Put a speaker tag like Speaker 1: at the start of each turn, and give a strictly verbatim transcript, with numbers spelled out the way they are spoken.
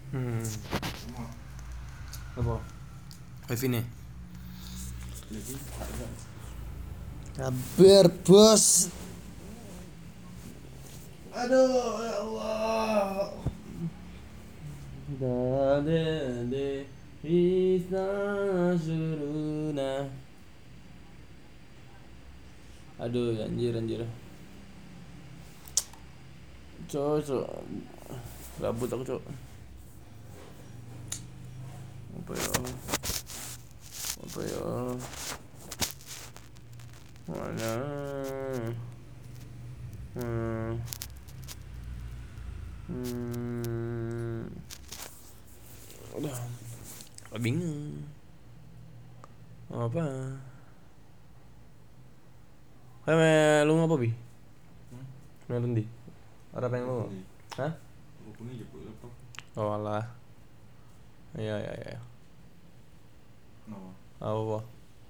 Speaker 1: Hmm. Apa? Wifi nih.
Speaker 2: Kabar bos. Aduh ya Allah.
Speaker 1: Dadende Krishna suruna. Aduh anjir anjir. Cok cok. Gabut aku cok. Apa ya? Apa ya? Mana? Hmm. Hmm. Udah. Bingung. Apa? Kayak lu ngapa bi? Nonton di? Ada pengen lu? Hah? Oh alah. Iya iya iya.
Speaker 3: Kenapa?
Speaker 1: Apa?